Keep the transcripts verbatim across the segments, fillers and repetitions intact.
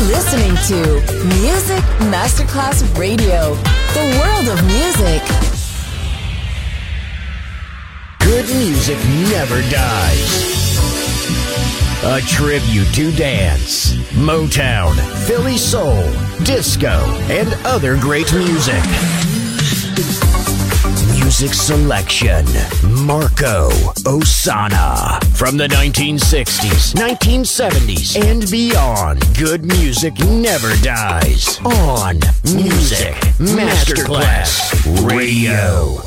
listening to Music Masterclass Radio, the world of music. Good music never dies. A tribute to dance, Motown, Philly soul, disco, and other great music. Music selection, Marco Ossanna. From the nineteen sixties, nineteen seventies, and beyond, good music never dies. On Music Masterclass Radio.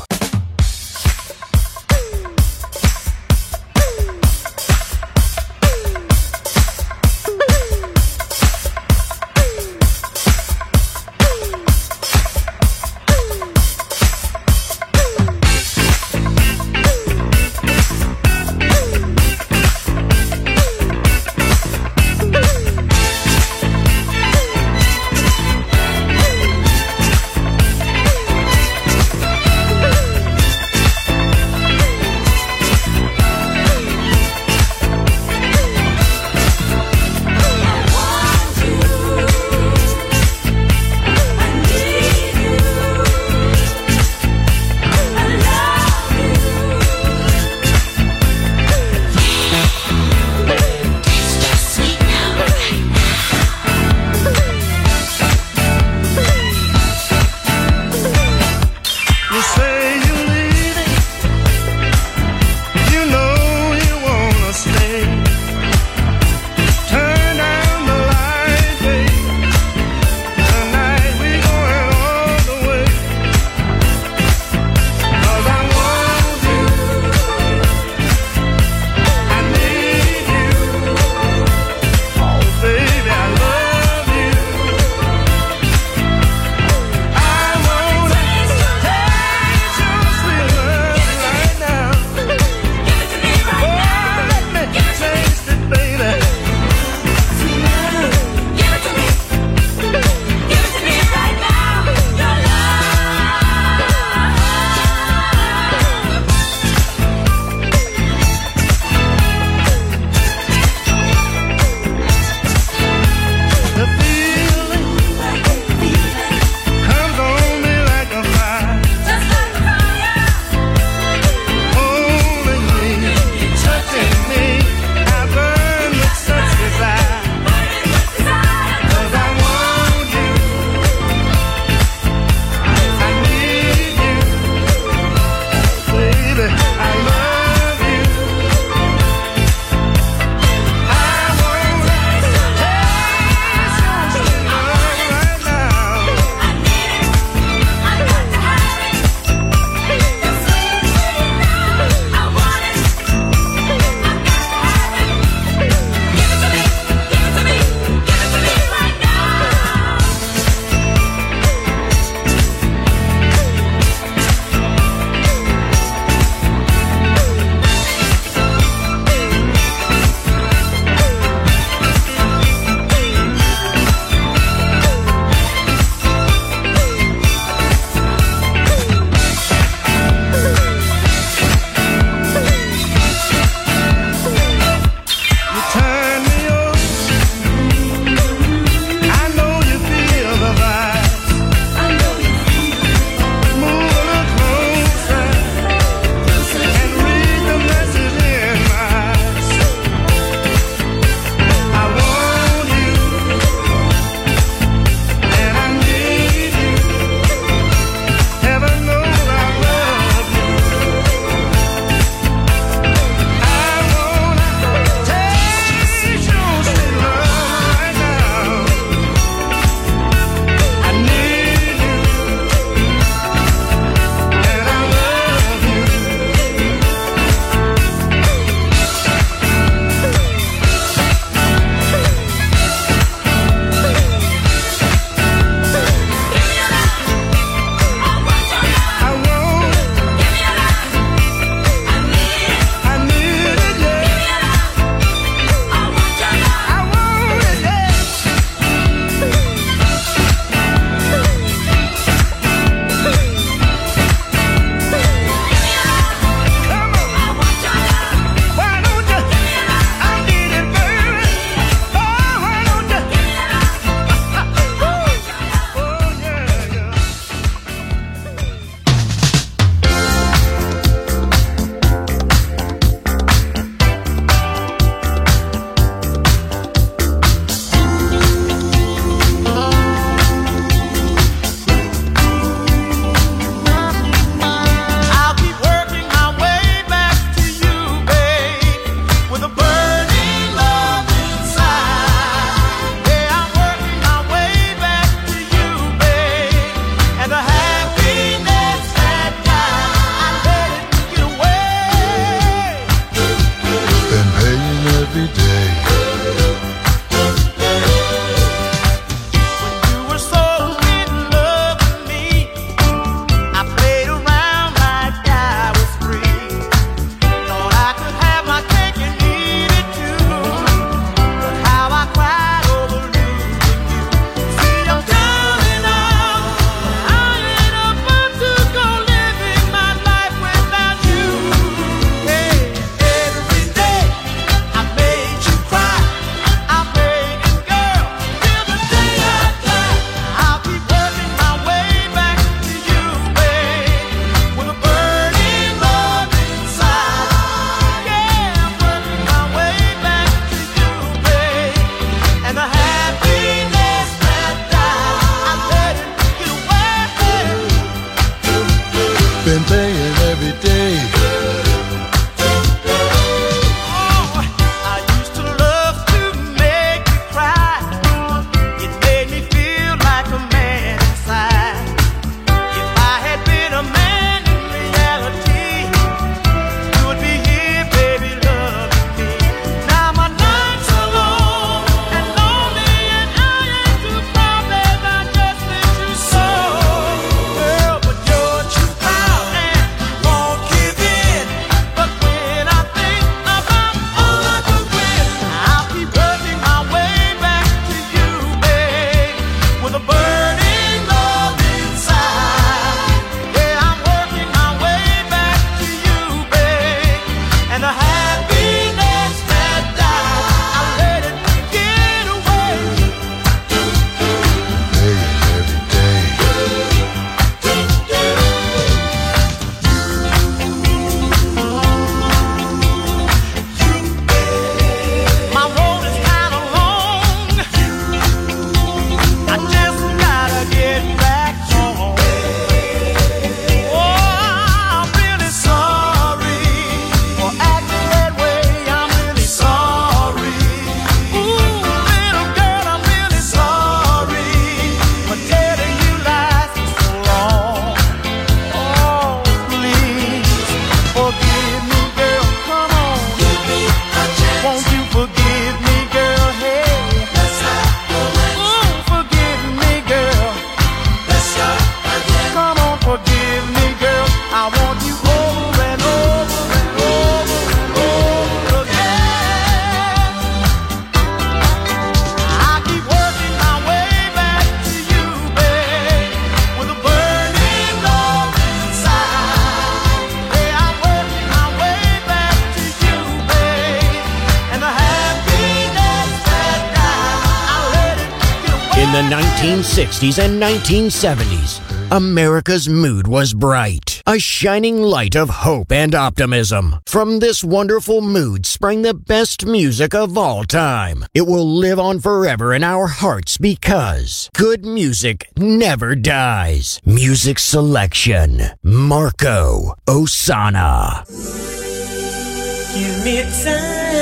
In the nineteen sixties and nineteen seventies, America's mood was bright, a shining light of hope and optimism. From this wonderful mood sprang the best music of all time. It will live on forever in our hearts because good music never dies. Music selection, Marco Ossanna. Give me time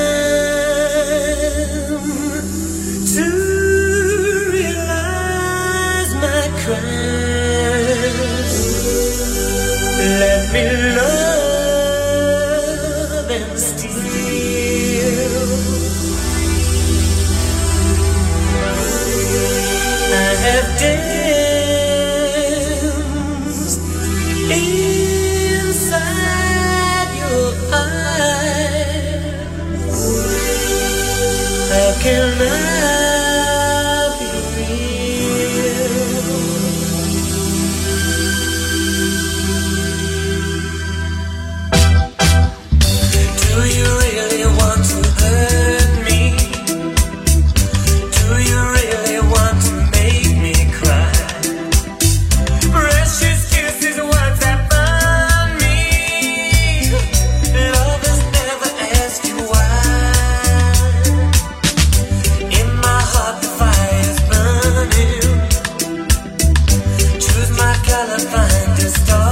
to realize my crimes. Let me love and steal. I have danced inside your eyes. How can I be real? Do you really want to hurt me? Do you really want to make me cry? Precious kisses, words that burn me. Lovers never ask you why. In my heart the fire's burning. Choose my color, find a star.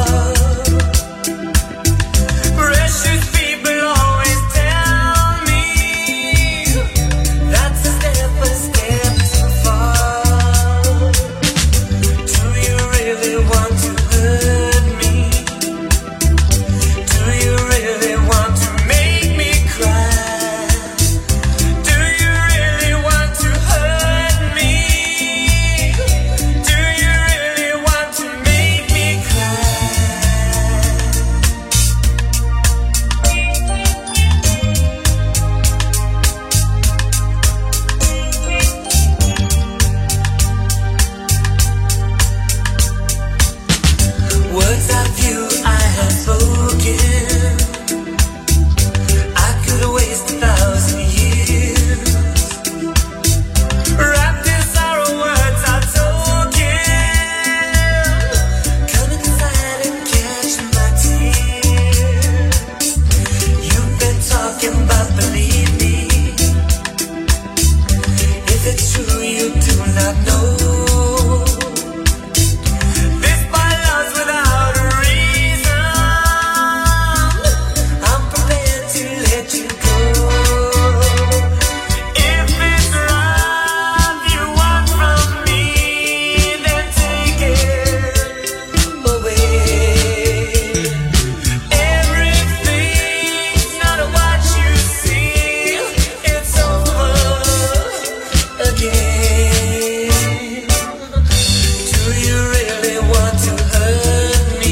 Precious people always tell me that's a step, a step too far. Do you really want to hurt me? Do you really want to make me cry? Do you really want to hurt me? Do you really want to make me cry? Words of you I have spoken, I could waste a thousand years. Wrapped in sorrow, words are token. Come inside and catch my tears. You've been talking about, believe me. If it's true, you do not know. This by love's without a reason. I'm prepared to let you go. If it's love you want from me, then take it away. Everything's not what you see. It's over again. Do you really want to hurt me?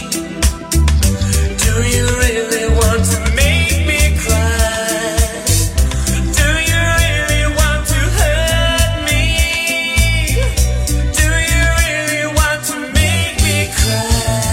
Do you really want to make me cry? Do you really want to hurt me? Do you really want to make me cry?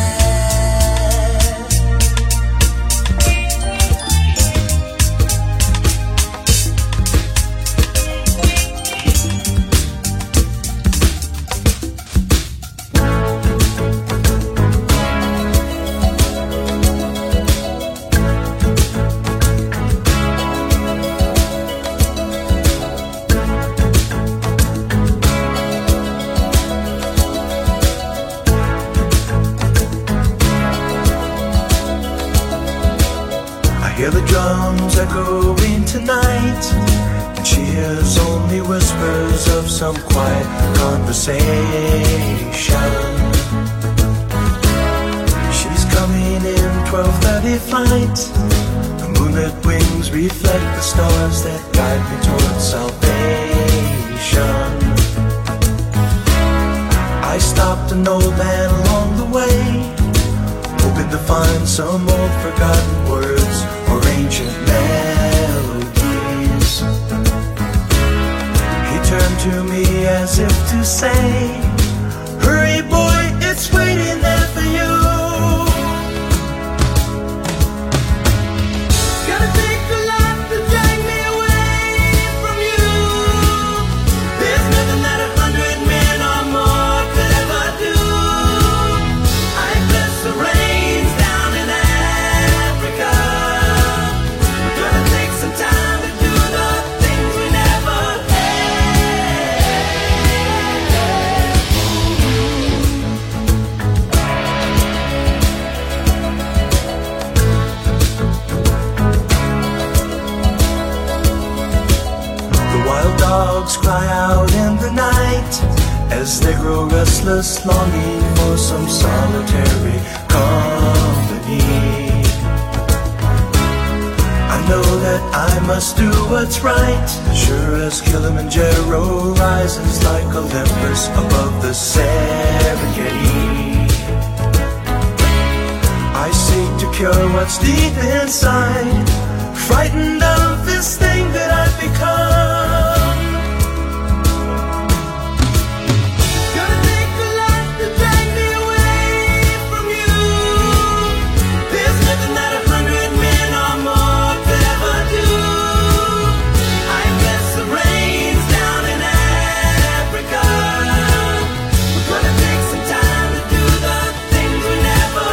I hear the drums echoing tonight, and she hears only whispers of some quiet conversation. She's coming in twelve thirty flight. The moonlit wings reflect the stars that guide me towards salvation. I stopped an old man along the way, hoping to find some old forgotten words or ancient melodies. He turned to me as if to say, hurry boy, it's waiting there for you. Gotta take the life to drag me away from you. There's nothing that a hundred cry out in the night as they grow restless, longing for some solitary company. I know that I must do what's right, sure as Kilimanjaro rises like Olympus above the Serengeti. I seek to cure what's deep inside, frightened of this thing that I've become. Gonna take a lot to drag me away from you. There's nothing that a hundred men or more could ever do. I guess the rain's down in Africa. We're gonna take some time to do the things we never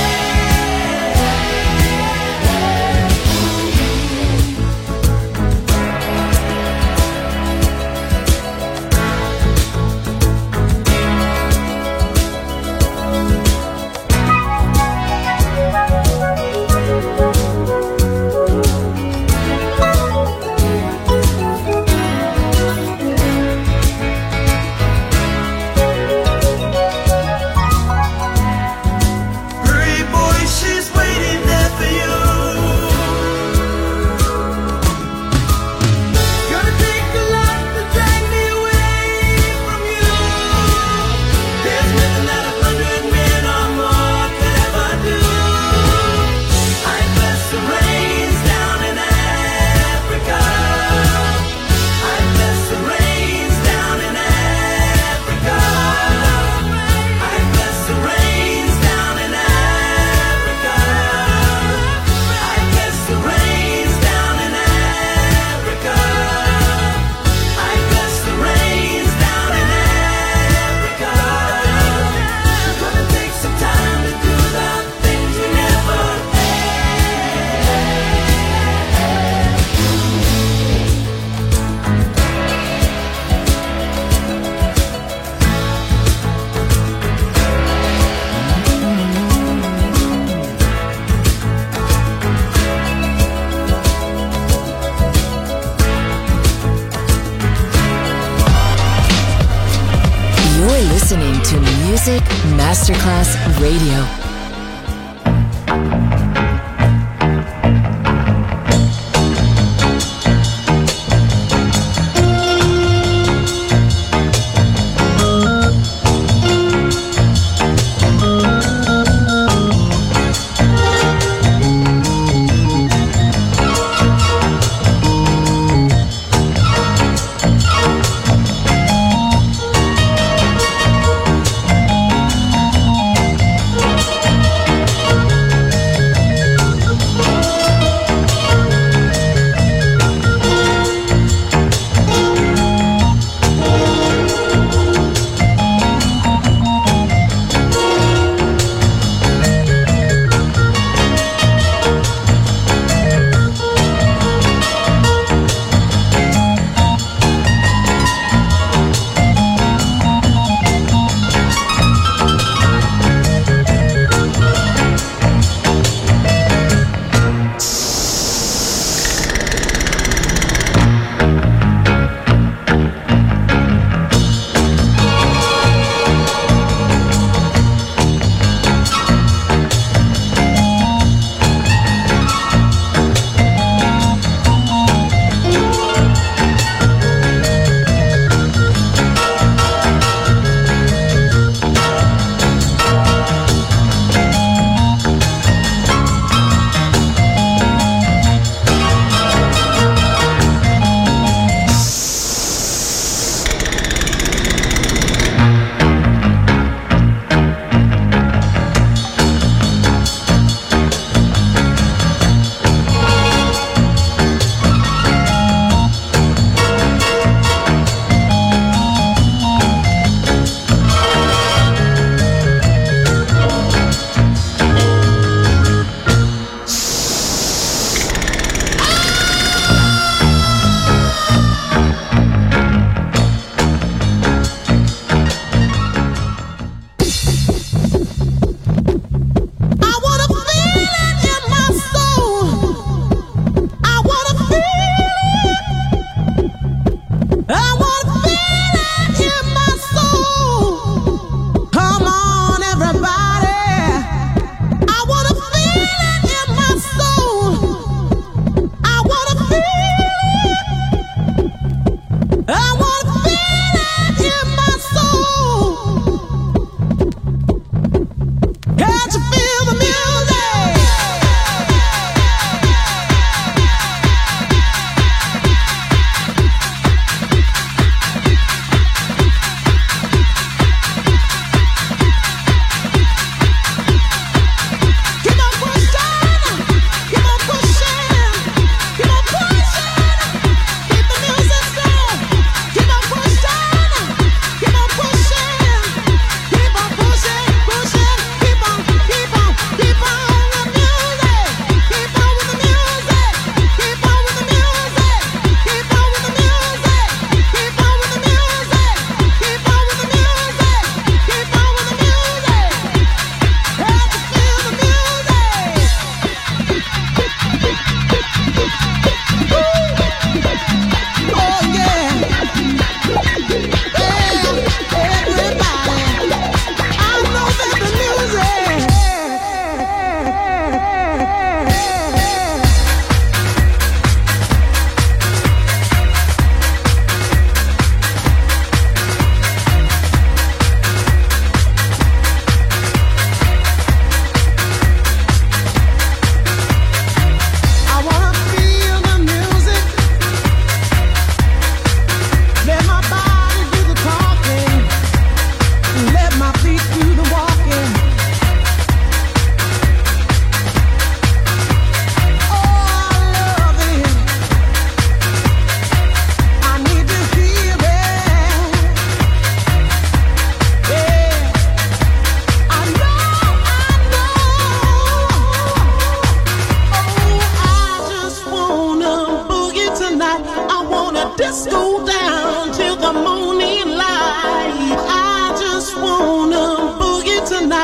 listening to Music Masterclass Radio. We'll be right back.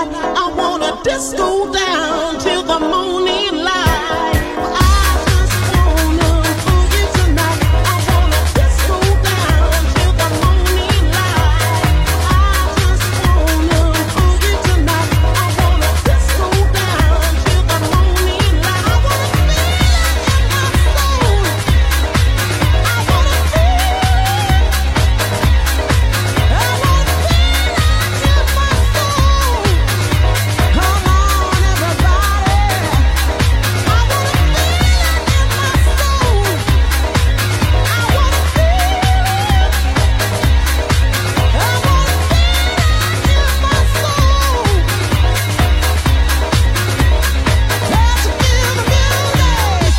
tonight. I wanna disco down till the morning light. I just wanna boogie tonight. I wanna disco down till the morning light. I just wanna boogie tonight. I wanna disco down till the morning light. I wanna feel it in my soul. I wanna feel it. I wanna feel it in my soul. Come on, everybody. I wanna feel it in my soul. I wanna feel it. I wanna feel it in my soul. Let's feel the music.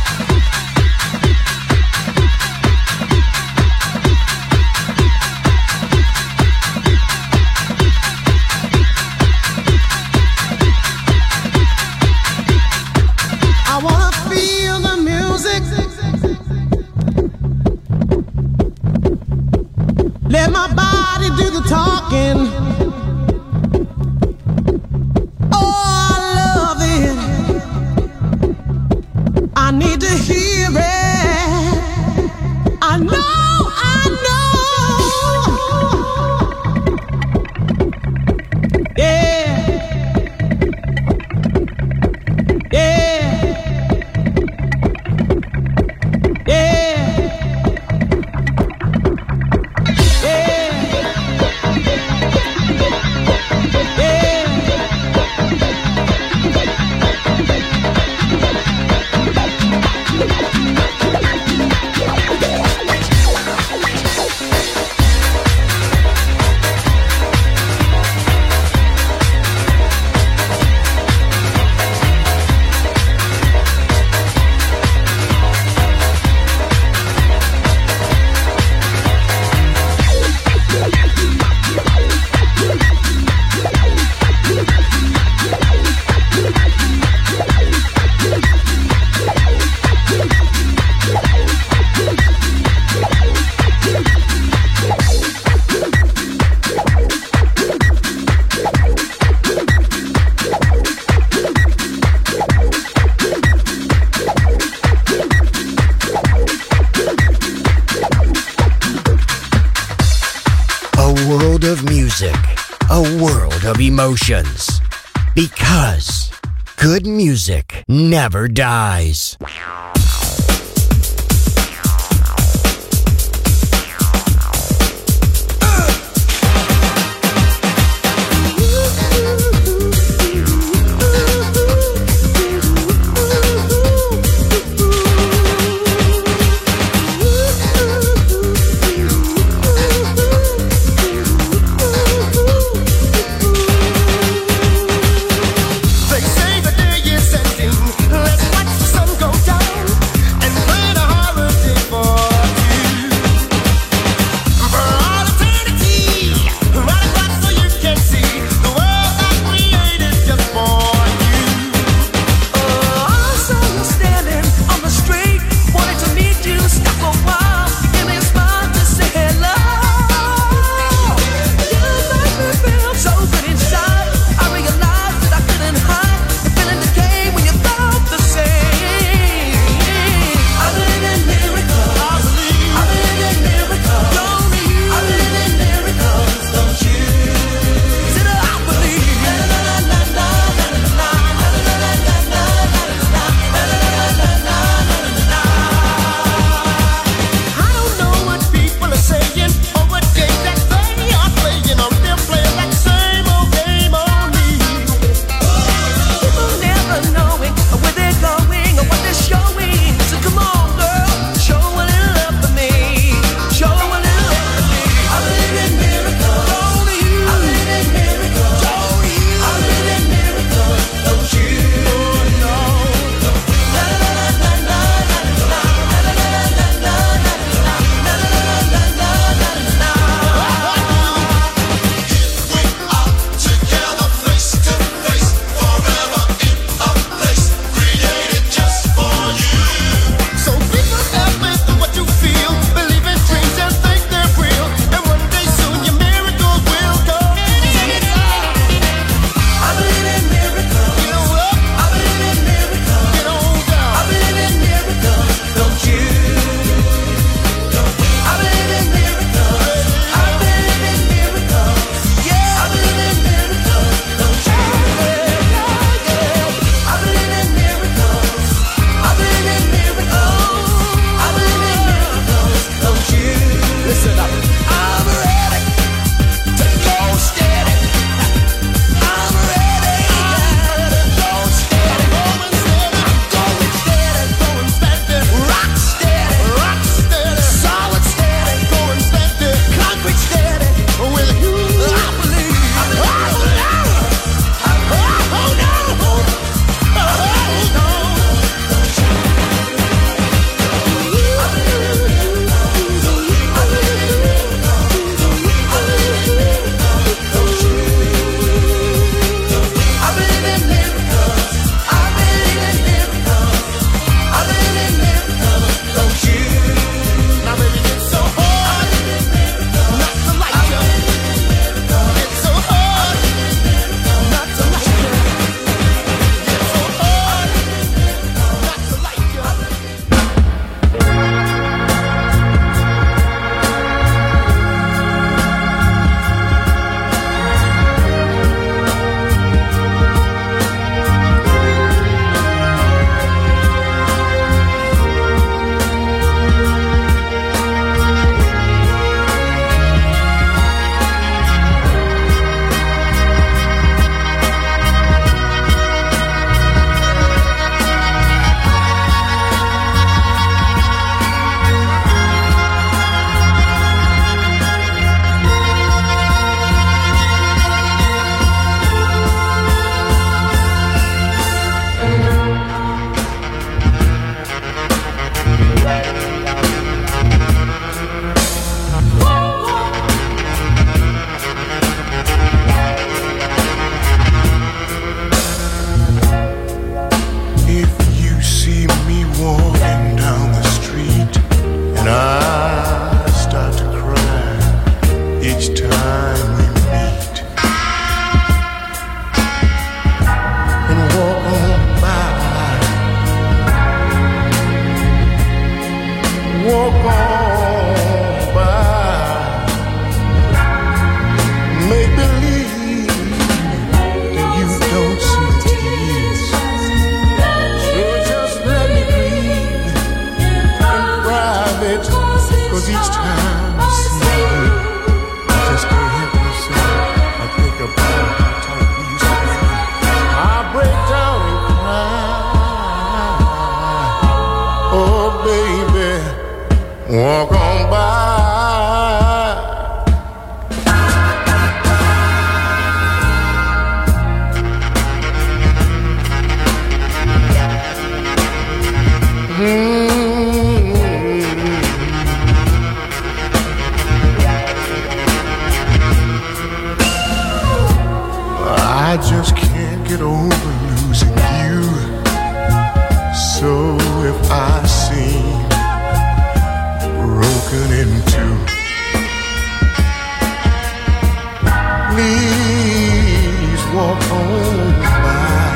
I wanna feel the music. Let my body do the talking. Oh, I love it. I need to hear it. I know, I know. Yeah. Yeah. Yeah. A world of music, a world of emotions. Because good music never dies. They say the day is ending. Let's watch the sun go down. get over losing you. So if I seem broken in two, please walk on by,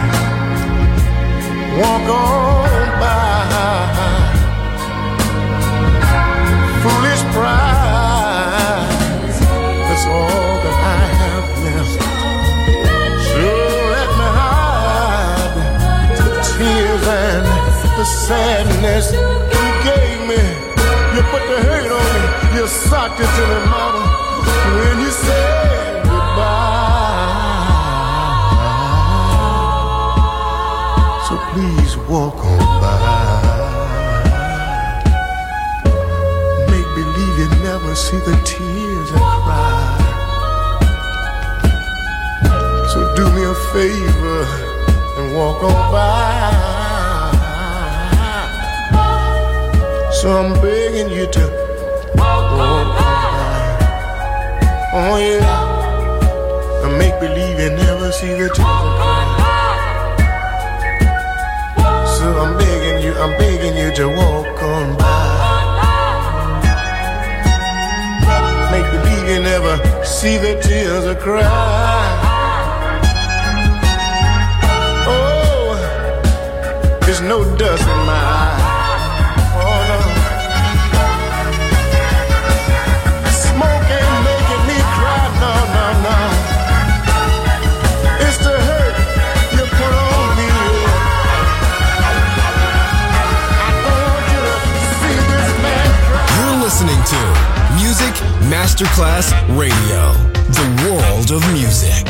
walk on by. Foolish pride, that's all that I have left. So let me hide the tears and the sadness you gave me. You put the hurt on me, you socked it to me, mama, when you said goodbye. So please walk on by. Make believe you never see the tears I cry. So do me a favor and walk on by. So I'm begging you to walk on by. Oh yeah. And make believe you never see the tears I cry. So I'm begging you, I'm begging you to walk on by. Make believe you never see the tears I cry. Oh, there's no dust in my eye. Oh no. Smoke ain't making me cry. No, no, no. It's the hurt you put on me. I don't want you to see this man cry. You're listening to Music Masterclass Radio, the world of music.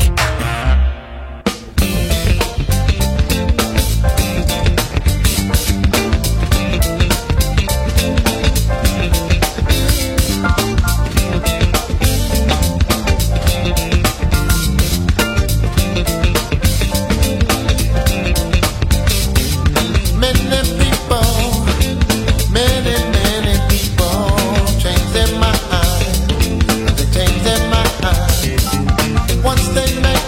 Once they make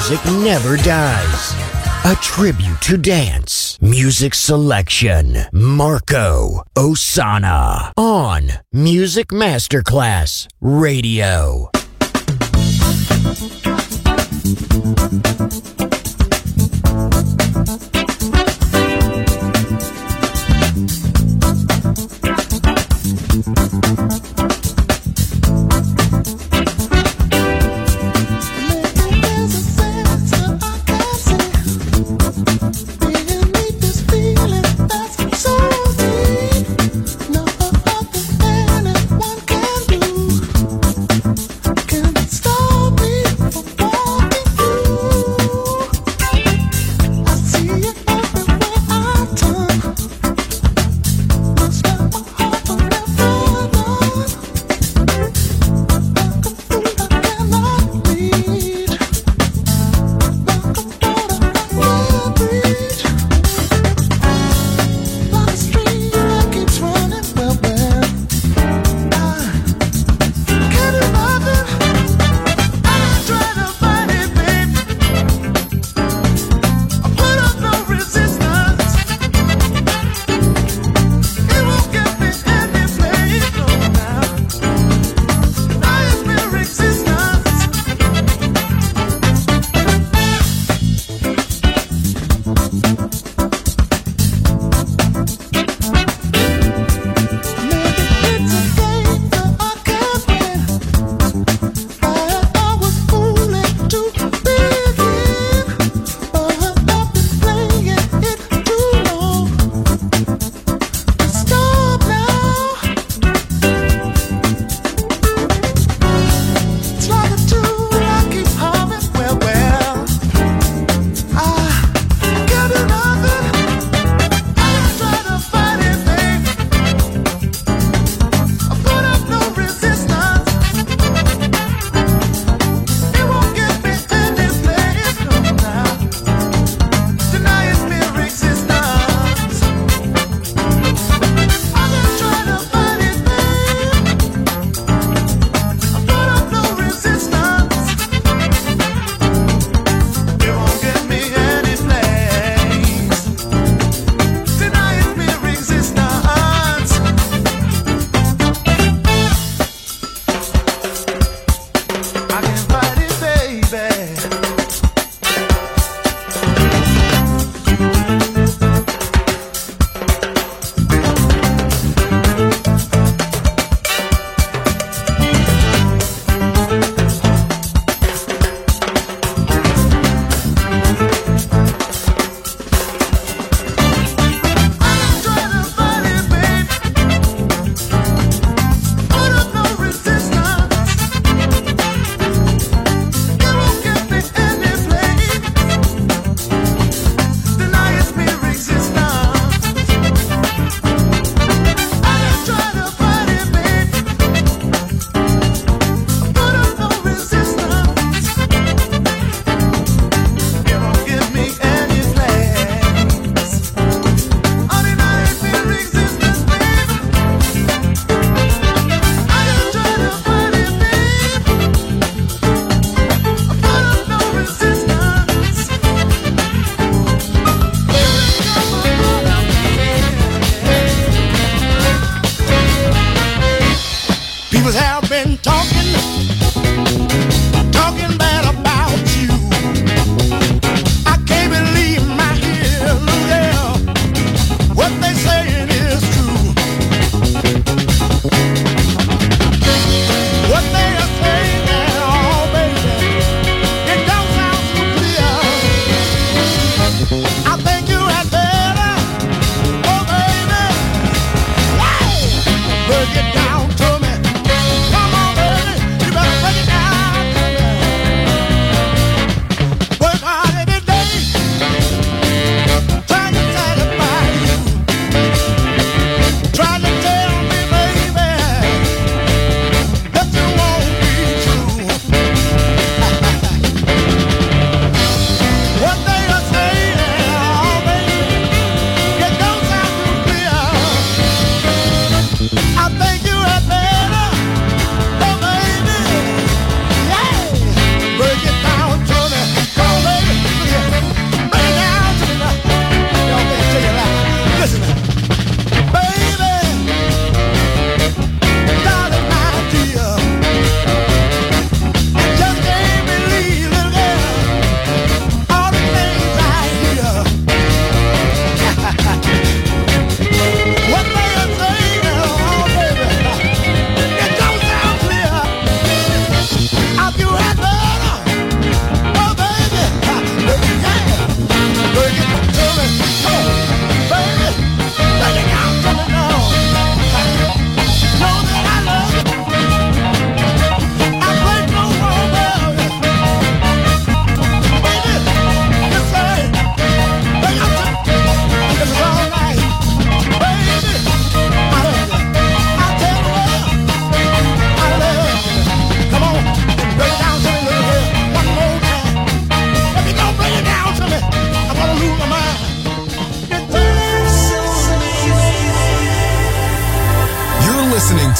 music never dies. A tribute to dance. Music selection. Marco Ossanna. On Music Masterclass Radio. What they are saying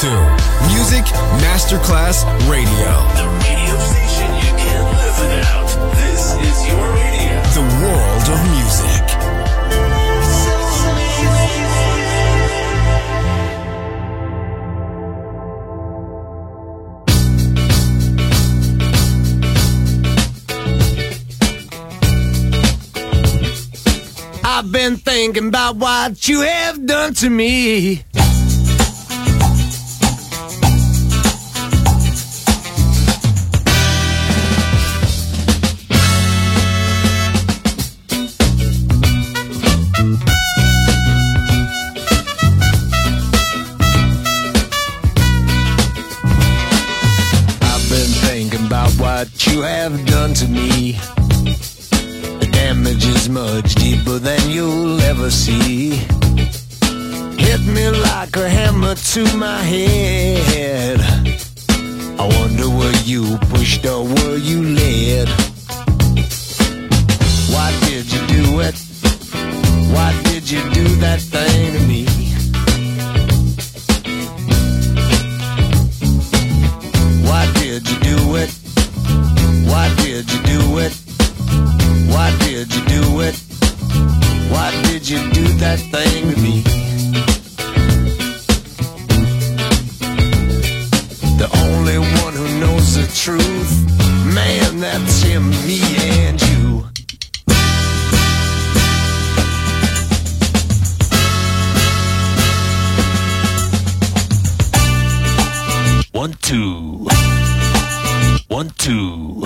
to Music Masterclass Radio. The radio station you can't live without. This is your radio. The world of music. I've been thinking about what you have done to me. I've been thinking about what you have done to me. Damage is much deeper than you'll ever see. Hit me like a hammer to my head. I wonder were you pushed or were you led? Why did you do it? Why did you do that thing to me? Why did you do it? Why did you do it? Why did you do it? Why did you do that thing to me? The only one who knows the truth, man, that's him, me and you. One, two. One, two.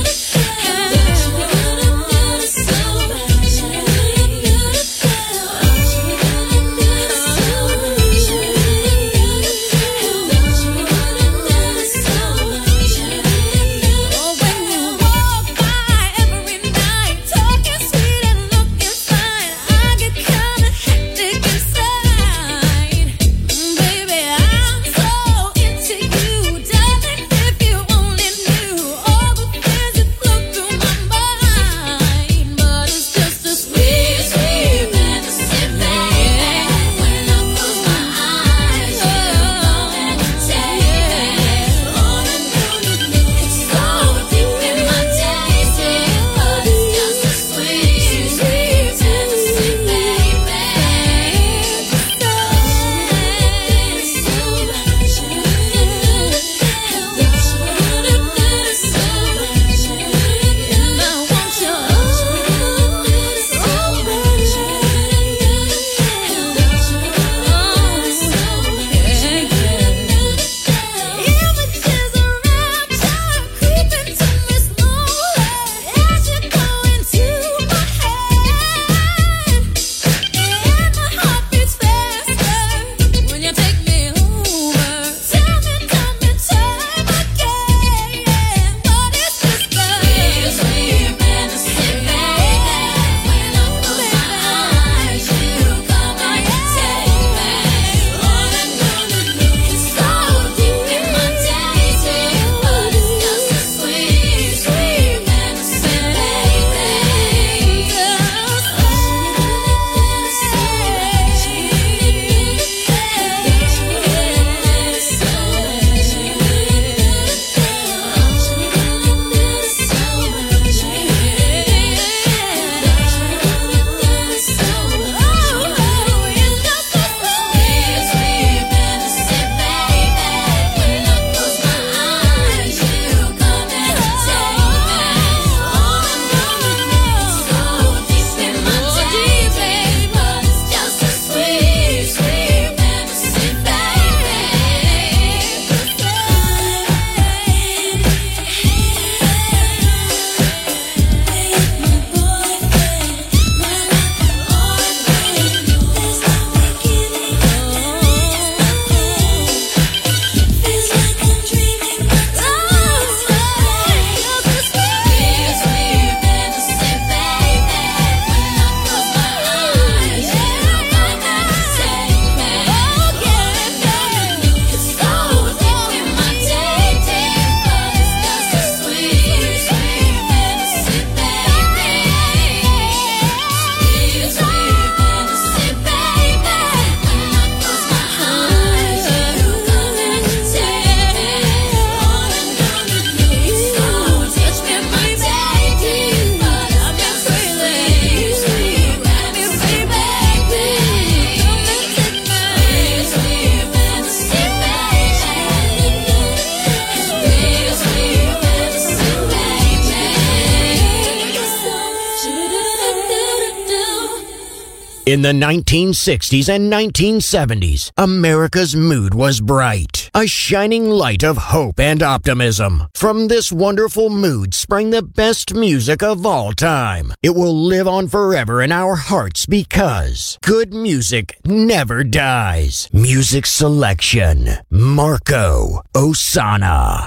Oh In the nineteen sixties and nineteen seventies, America's mood was bright, a shining light of hope and optimism. From this wonderful mood sprang the best music of all time. It will live on forever in our hearts because good music never dies. Music selection, Marco Ossanna.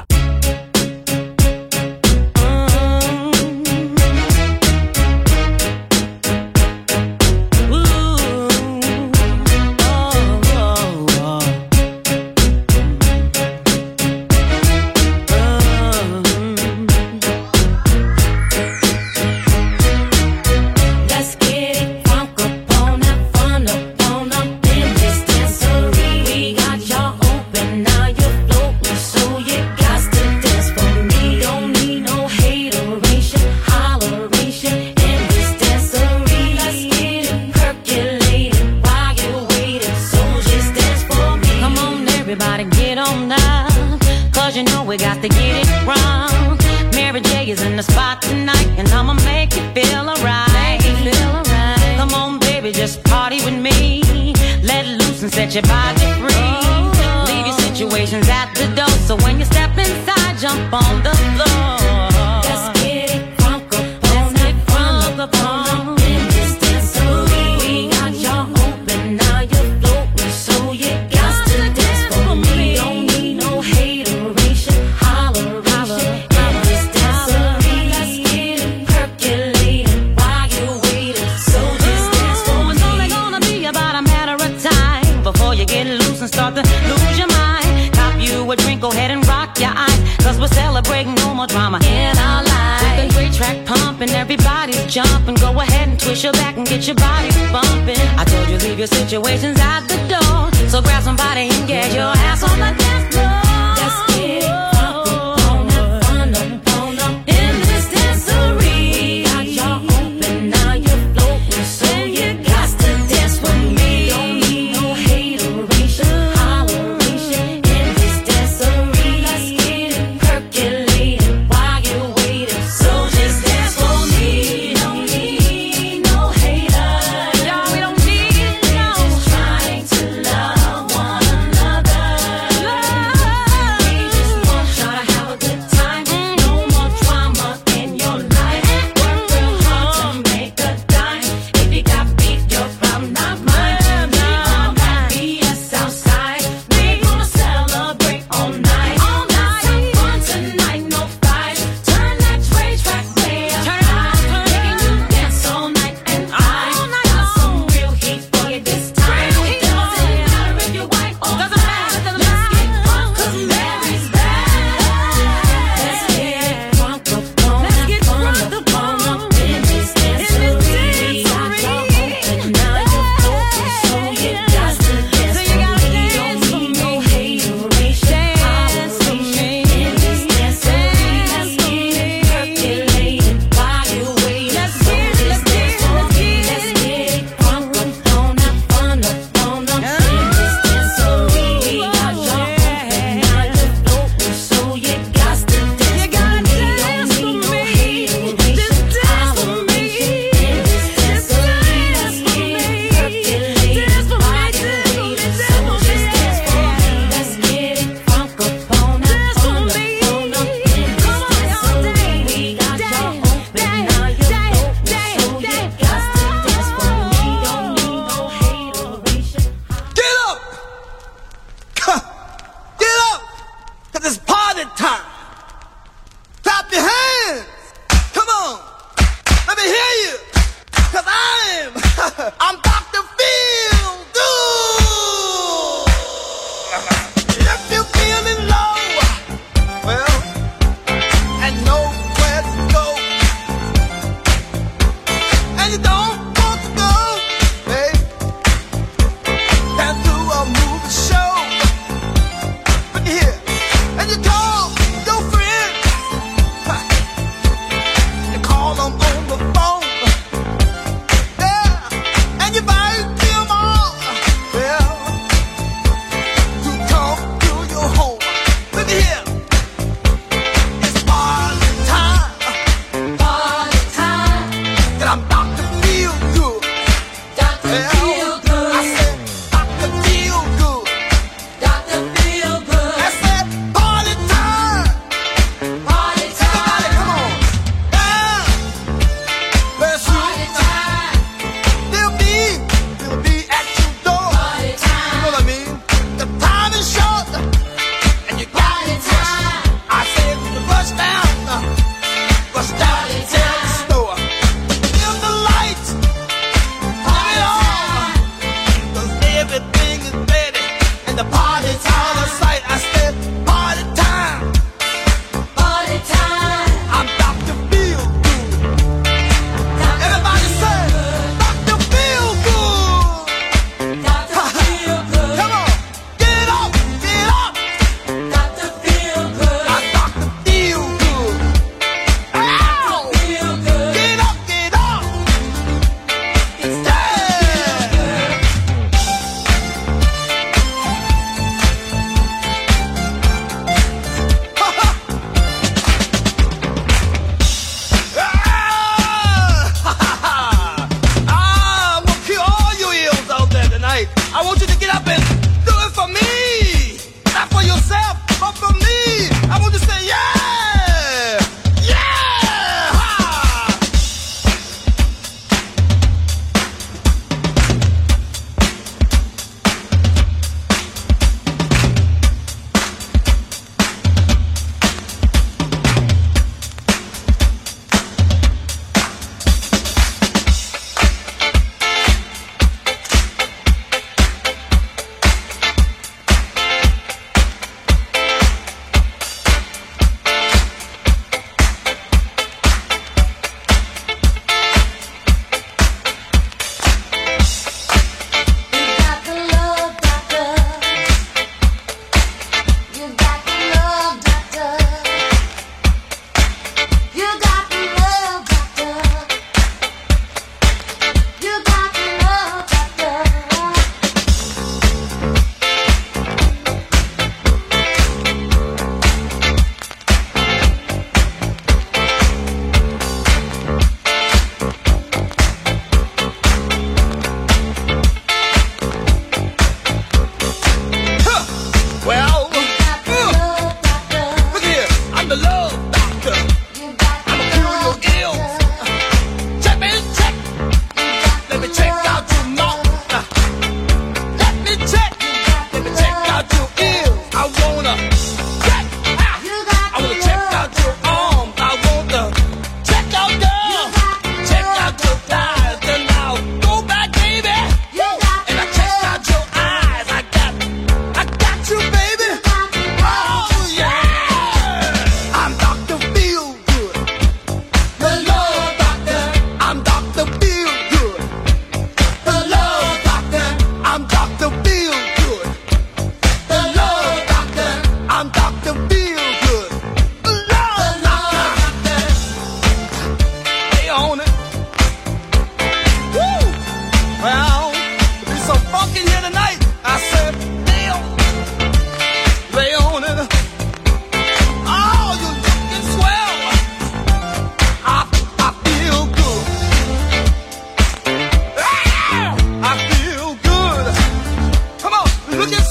Your body free. Leave your situations at the door. So when you step inside, jump on the floor. Let's get it crunk up on it, crunk up on in this dancery. We got y'all open, now you're floating, so you got to dance for me. Don't need no hateration, holleration in this dancery. Let's get it percolating while you're waiting. So just dance for me. It's only gonna be about a matter of time before you get loose and start to lose your mind. Cop you a drink, go ahead and rock your eyes, cause we're celebrating no more drama in our lives. With the great track pumping, everybody's jumping. Go ahead and twist your back and get your body bumping. I told you leave your situations at the door, so grab somebody and get your ass on the dance floor. Let's get it crunk up on up, fun up, on up in this dancery. Got y'all open, now you're floating, so you got to dance with me. Don't need no hateration, holleration in this dancery. Let's get it percolating while you're waiting. So just dance for me. Don't need no haters. Y'all, we don't need no. Just trying to love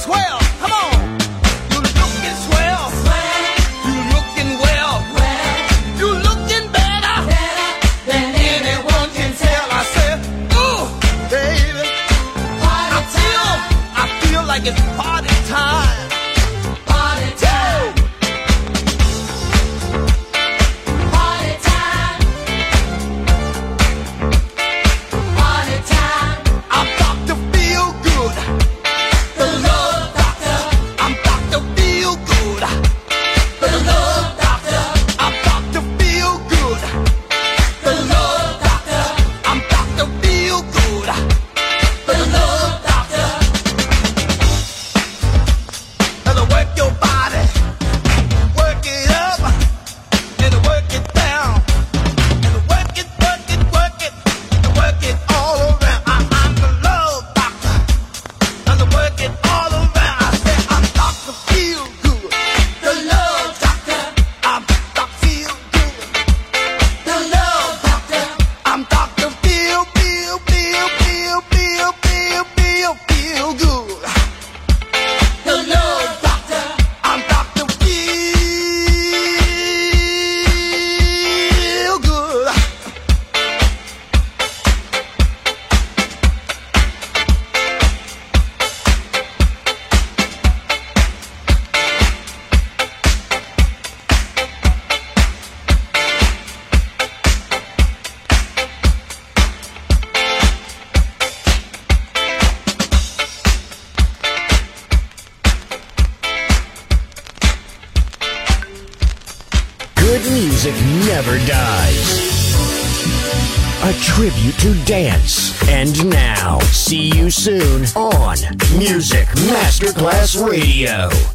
swell. Come on. You looking swell. You looking well. You looking better than anyone can tell. I said, ooh, baby. I feel, I feel like it's party time. Party time. Party time. Party time. I'm Doctor Feel Good. The love doctor. I'm Doctor Feel Good. The love doctor. I'm Doctor Feel Good. The love doctor. I'm Doctor Feel Good. The love doctor. Now work your body, work it up, and work it down, and work it, work it, work it, and work it all around. I, I'm the love doctor, and work it all around. I say I'm Doctor Feel Good, the love doctor. I'm Doctor Feel Good, the love doctor. I'm Doctor Feel, Feel, Feel, Feel, Feel, Feel, Feel, Feel Good. The love doctor. I'm Doctor Feel Good. Good music never dies. A tribute to dance. And now, see you soon on Music Masterclass Radio.